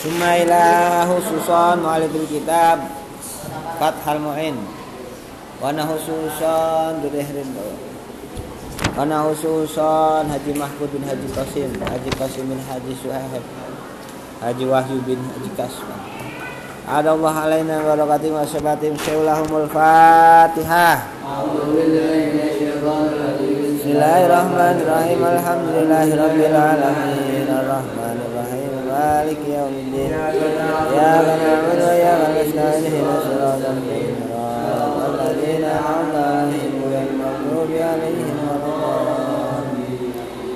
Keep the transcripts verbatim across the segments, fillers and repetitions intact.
Summa ila khususan mu'alifil kitab Fathal Mu'in Wana khususan Durihrin Wana khususan Haji Mahfud bin Haji Qasim Haji Qasim bin Haji Suhaib Haji Wahyu bin Haji Kasman Adallah alaina barakatim wa sabatim Syawlahumul Fatihah Bismillahirrahmanirrahim Alhamdulillahi Rabbil Alamin Ar-Rahmanirrahim Maliki yaumiddin Iyyaka na'budu wa iyyaka nasta'in ihdinas siratal mustaqim Siratal ladzina an'amta 'alaihim ghairil maghdubi 'alaihim waladdallin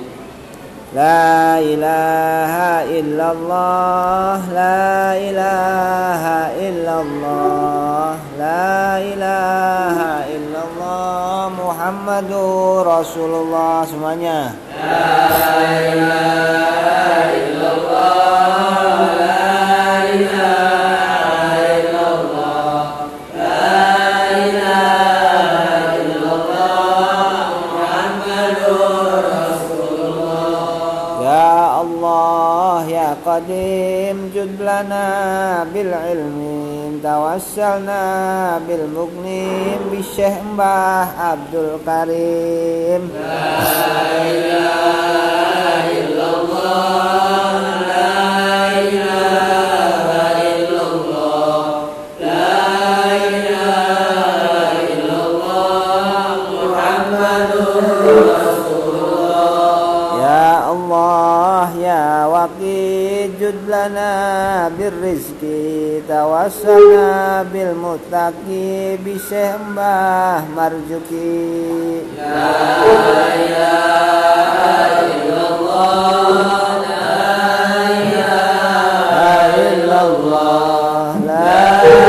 La ilaha illallah La ilaha illallah La ilaha illallah Muhammadur Rasulullah semuanya La ilaha illallah La ilaha illallah La ilaha illallah Muhammadur Rasulullah Ya Allah ya Qadim jud lana bil ilmi tawassalna bil mugnim bi Syekh Mbah Abdul Karim La ilaha illallah La ilaha illallah La ilaha illallah Muhammadur Rasulullah Ya Allah ya Waqid jud lana bir rizki tawassalna bil muttaqi bi Syekh Mbah Marzuki La ilaha illallah La ilaha illallah La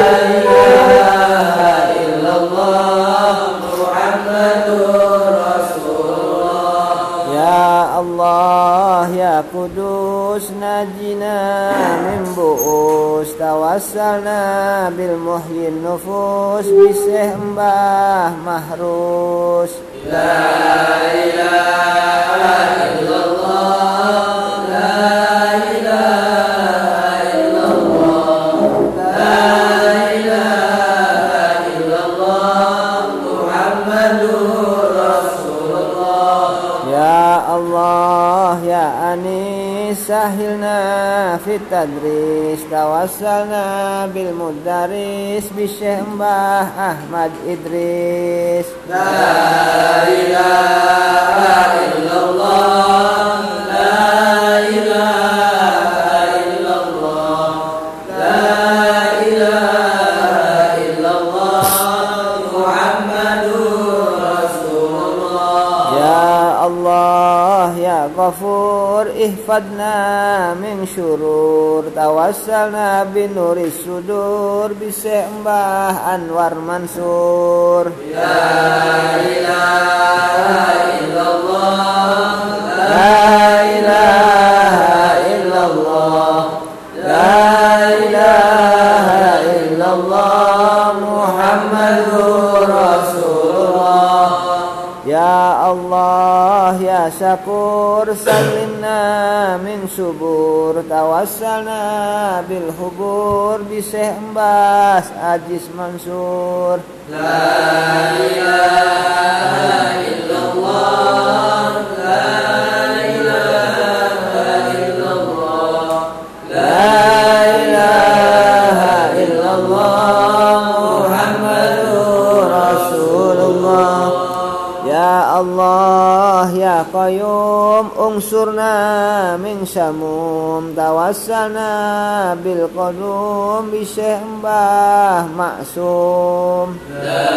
ilaha illallah Muhammadur Rasulullah Ya Allah ya Qudus najina min bu'us tawassalna bil muhyin nufus bi Syekh Mbah Mahrus La ilaha illallah La ilaha illallah La ilaha illallah Muhammadur Rasulullah Ya Allah ya Anis sahilna fit tadris tawassalna bil mudaris bi Syekh Mbah Ahmad Idris La ilaha illallah La ilaha illallah La ilaha illallah Muhammadur Rasulullah Ya Allah ya Ghafur ihfadna min syurur tawassalna bin nuris sudur bi Syekh Mbah Anwar Mansur La ilaha illallah La ilaha illallah La ilaha illallah Muhammadur Rasulullah Ya Allah ya Syakur salimna min subur tawassalna bil hubur bi Syekh Mbah Ajis Mansur La ilaha illallah La ilaha illallah La ilaha illallah Muhammadur Rasulullah Ya Allah ya Qayyum unsurna min samum tawassalna bil qadum bi Syekh Mbah Maksum La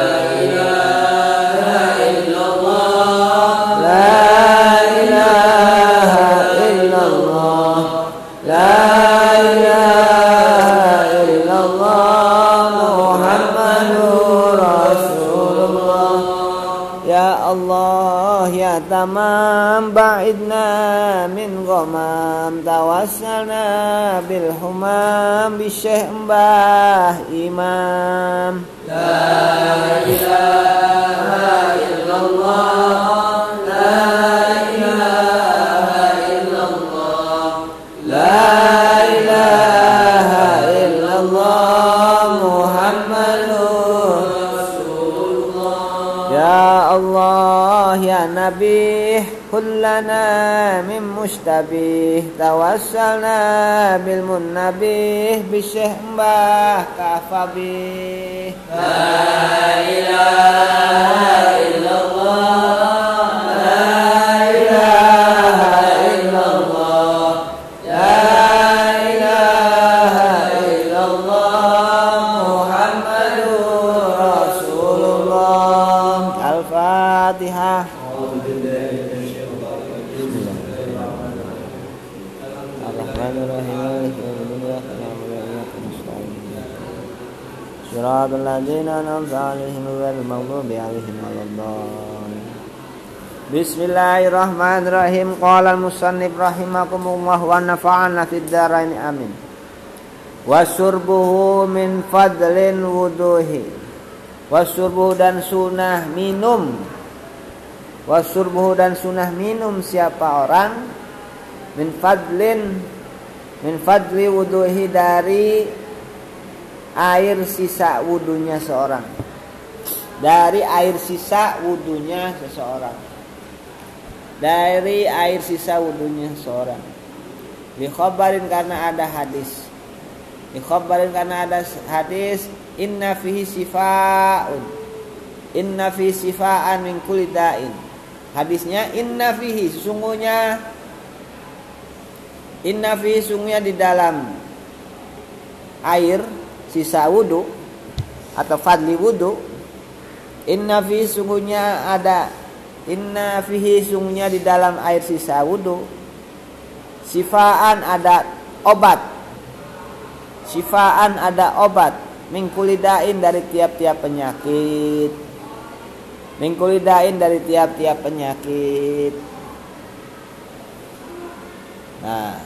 ilaha illallah La ilaha illallah La ilaha illallah Muhammadur Rasulullah Ya Allah ya tamam ba'idna min ghamam tawassalna bil humam bi Syekh Mbah Imam La ilaha illallah La ilaha illallah La ilaha mustabih tawassalna bil munnabih bisyekh mbah kafabih. La ilaha illallah, la ilaha illallah, la ilaha illallah Muhammadur Rasulullah. Al-Fatihah. Shiratal ladzina an'amta 'alaihim ghairil maghdubi 'alaihim waladdallin. Bismillahirrahmanirrahim. Qala al-musannif rahimakumullah wa nafa'ana fid dharain amin. Wasyurbuhu min fadlin wuduhi. Wasyurbuhu dan sunah minum. Wasyurbuhu dan sunah minum siapa orang min fadlin min fadli wuduhi dari air sisa wudunya seorang, dari air sisa wudunya seseorang, dari air sisa wudunya seseorang. Dikhabarin karena ada hadis, dikhabarin karena ada hadis. Inna fihi sifaun, inna fihi sifaan min kulli da'in. Hadisnya inna fihi, sesungguhnya, inna fihi, sesungguhnya di dalam air sisa wudu atau fadli wudu. Inna fihi, sungguhnya ada, inna fihi, sungguhnya di dalam air sisa wudu, sifaan ada obat, sifaan ada obat, min kulli da'in dari tiap-tiap penyakit, min kulli da'in dari tiap-tiap penyakit. Nah,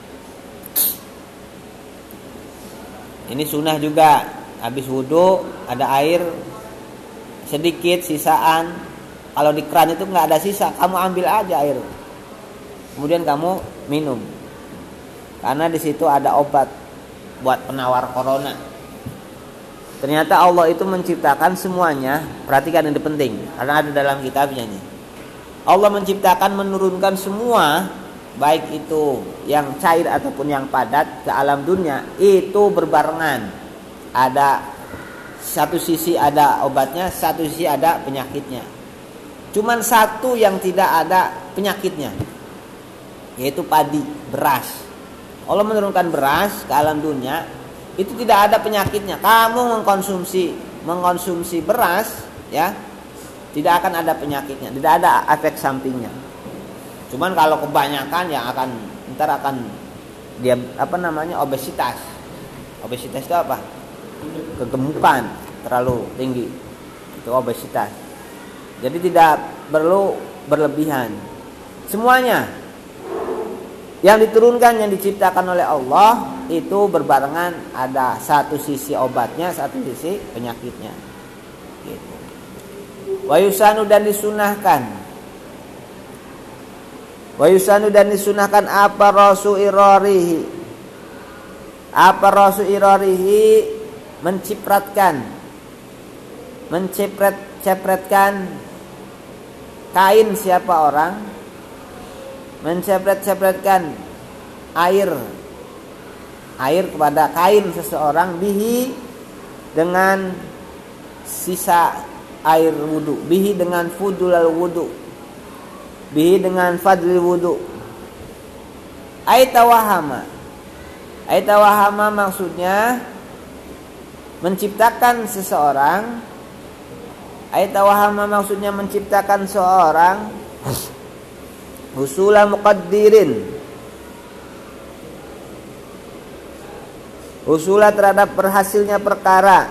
ini sunnah juga. Habis wudhu ada air sedikit sisaan. Kalau di keran itu nggak ada sisa, kamu ambil aja air, kemudian kamu minum. Karena di situ ada obat buat penawar corona. Ternyata Allah itu menciptakan semuanya. Perhatikan, ini penting karena ada dalam kitabnya nih. Allah menciptakan, menurunkan semua, baik itu yang cair ataupun yang padat, ke alam dunia itu berbarengan. Ada satu sisi ada obatnya, satu sisi ada penyakitnya. Cuman satu yang tidak ada penyakitnya, yaitu padi, beras. Allah menurunkan beras ke alam dunia, itu tidak ada penyakitnya. Kamu mengkonsumsi mengkonsumsi beras, ya, tidak akan ada penyakitnya, tidak ada efek sampingnya. Cuman kalau kebanyakan yang akan ntar akan dia apa namanya obesitas. Obesitas itu apa? Kegemukan terlalu tinggi. Itu obesitas. Jadi tidak perlu berlebihan. Semuanya yang diturunkan, yang diciptakan oleh Allah itu berbarengan, ada satu sisi obatnya, satu sisi penyakitnya. Gitu. Wa yusanu, dan disunahkan. Wa yusanu, dan disunahkan apa rasu irarihi, apa rasu irarihi, mencipratkan, mencipret cepretkan kain siapa orang, mencepret-cepretkan air air kepada kain seseorang, bihi, dengan sisa air wudu, bihi, dengan fudulal wudu, bihi, dengan fadlil wudu. Aitawahama, aitawahama maksudnya menciptakan seseorang. Aitawahama maksudnya menciptakan seorang husula muqaddirin, husula terhadap berhasilnya perkara,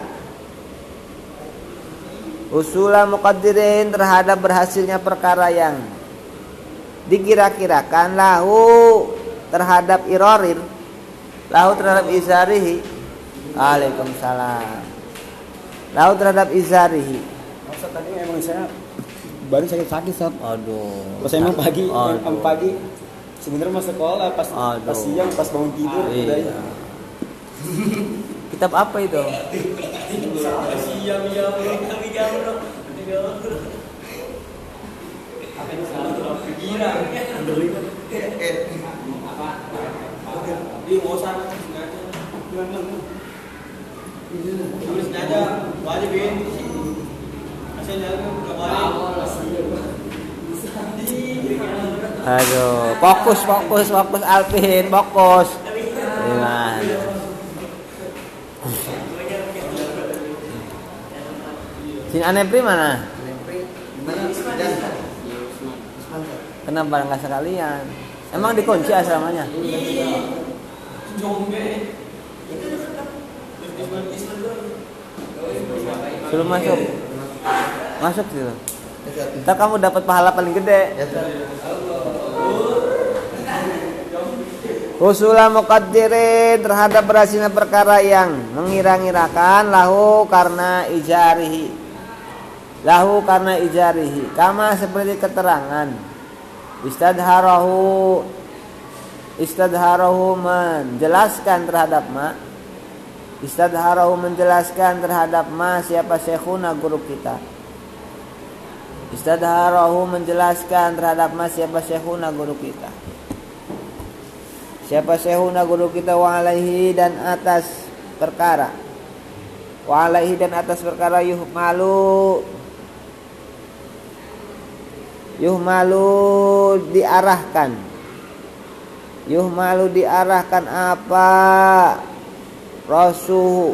husula muqaddirin terhadap berhasilnya perkara yang dikira-kirakan, lahu terhadap irarir, lahu terhadap izarihi. Waalaikumsalam. Lahu terhadap izarihi. Maksud tadi emang saya baru sakit-sakit, Sob. Aduh. Pas emang pagi, Aduh. emang pagi sebenarnya mau sekolah, pas Aduh. pas siang, pas bangun tidur udah. Iya. Kitab apa itu? Aduh, fokus, fokus, fokus Alvin, fokus. Gimana? Sini Anepri mana? Kenapa nggak sekalian? Emang dikunci asramanya? Suruh masuk. Masuk gitu. Ntar kamu dapat pahala paling gede. Husula muqaddirin terhadap berhasilnya perkara yang mengira-ngirakan lahu karena ijarihi. Lahu karena ijarihi. Kama seperti keterangan. Istadharahu Istadharahu menjelaskan terhadap ma. Istadharahu menjelaskan terhadap ma siapa syekhuna guru kita. Istadharahu menjelaskan terhadap ma siapa syekhuna guru kita. Siapa syekhuna guru kita wa alaihi dan atas perkara. Wa alaihi dan atas perkara yuhmalu Yuhmalu diarahkan. Yuhmalu diarahkan apa? Rasuhu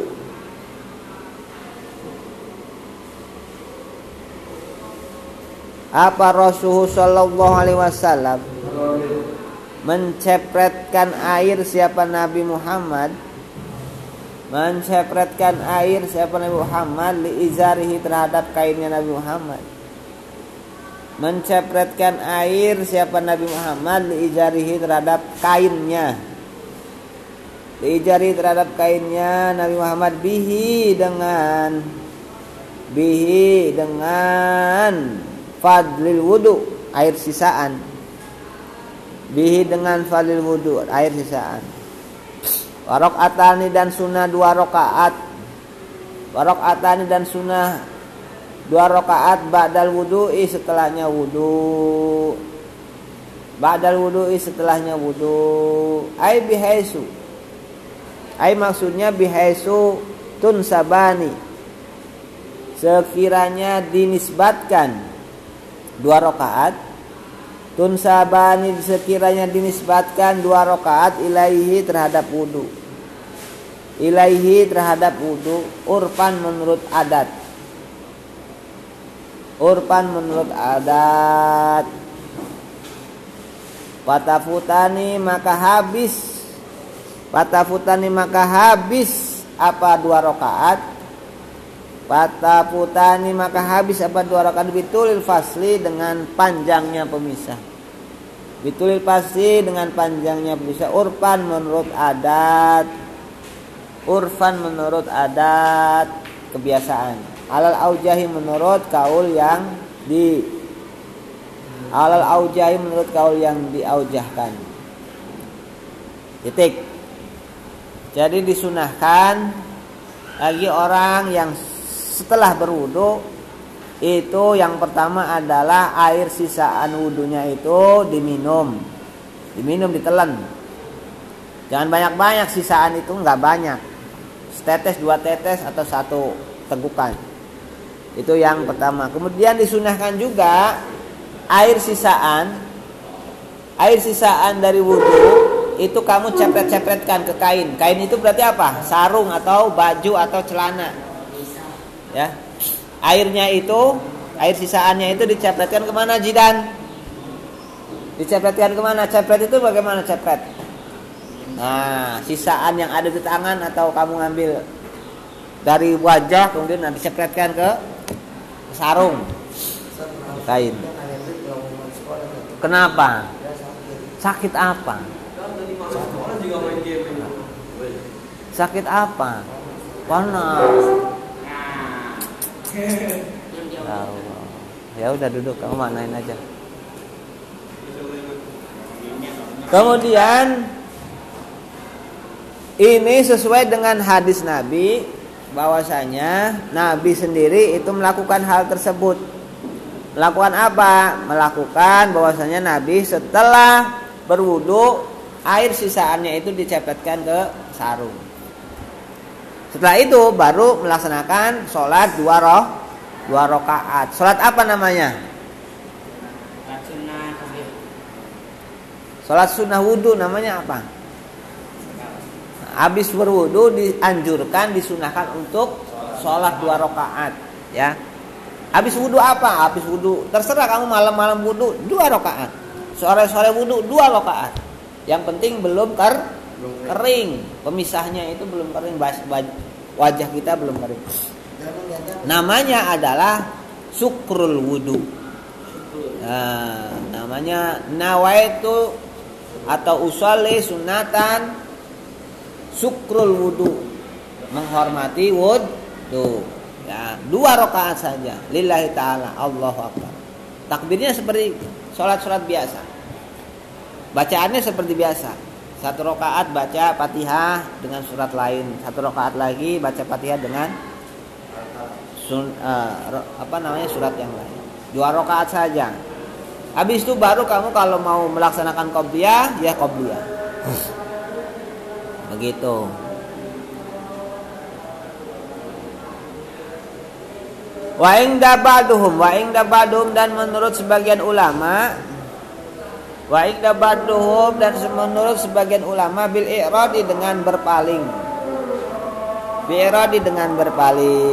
Apa Rasulullah sallallahu alaihi wasallam mencepretkan air siapa Nabi Muhammad mencepretkan air siapa Nabi Muhammad li izarihi terhadap kainnya Nabi Muhammad mencepretkan air siapa Nabi Muhammad li izarihi terhadap kainnya li izarihi terhadap kainnya Nabi Muhammad bihi dengan bihi dengan fadlil wudu air sisaan bihi dengan fadlil wudu air sisaan warok atani dan sunnah dua rakaat warok atani dan sunnah dua rakaat ba'dal wudu'i setelahnya wudu ba'dal wudu'i setelahnya wudu ai bihaisu ai maksudnya bihaisu tunsabani sekiranya dinisbatkan dua rakaat tunsabani sekiranya dinisbatkan dua rakaat ilaihi terhadap wudu ilaihi terhadap wudu urfan menurut adat urfan menurut adat patafutani maka habis patafutani maka habis apa dua rakaat patafutani maka habis apa dua rakaat bitulil fasli dengan panjangnya pemisah bitulil fasli dengan panjangnya pemisah urfan menurut adat urfan menurut adat kebiasaan alal aujahi menurut kaul yang di alal aujahi menurut kaul yang diaujahkan titik jadi disunahkan bagi orang yang setelah berwudu itu yang pertama adalah air sisaan wudunya itu diminum diminum ditelan jangan banyak-banyak sisaan itu nggak banyak setetes dua tetes atau satu tegukan itu yang pertama. Kemudian disunahkan juga air sisaan air sisaan dari wudu itu kamu cepret-cepretkan ke kain. Kain itu berarti apa? Sarung atau baju atau celana. Ya. Airnya itu, air sisaannya itu dicepretkan kemana Jidan? Dicepretkan kemana? Cepret itu bagaimana cepret? Nah, sisaan yang ada di tangan atau kamu ngambil dari wajah kemudian dicepretkan ke sarung kain. Kenapa? Sakit apa? Sakit apa? Panas. Ya udah duduk, kamu manain aja. Kemudian ini sesuai dengan hadis Nabi bahwasanya Nabi sendiri itu melakukan hal tersebut. Melakukan apa? Melakukan bahwasanya Nabi setelah berwudu air sisaannya itu dicepetkan ke sarung. Setelah itu baru melaksanakan sholat dua roh dua rakaat. Sholat apa namanya? Sholat sunnah wudu namanya apa? Habis berwudu dianjurkan disunahkan untuk sholat dua rakaat, ya. Habis wudu apa? Habis wudu terserah kamu malam-malam wudu dua rakaat, sore-sore wudu dua rakaat. Yang penting belum ker kering, pemisahnya itu belum kering, wajah kita belum kering. Namanya adalah syukrul wudu. Nah, namanya nawaitu atau usolli sunatan syukrul wudu, menghormati wudu. Ya, dua rakaat saja lillahi ta'ala, Allahu akbar. Takbirnya seperti sholat-sholat biasa, bacaannya seperti biasa. Satu rakaat baca Fatihah dengan surat lain, satu rakaat lagi baca Fatihah dengan sun, uh, apa namanya surat yang lain. Dua rakaat saja. Habis itu baru kamu kalau mau melaksanakan qobliyah, ya qobliyah. Begitu. Wa inda ba'duhum, wa inda ba'duhum, dan menurut sebagian ulama, wa inda ba'duhum, dan menurut sebagian ulama bil i'radi, dengan berpaling. Bi i'radi, dengan berpaling.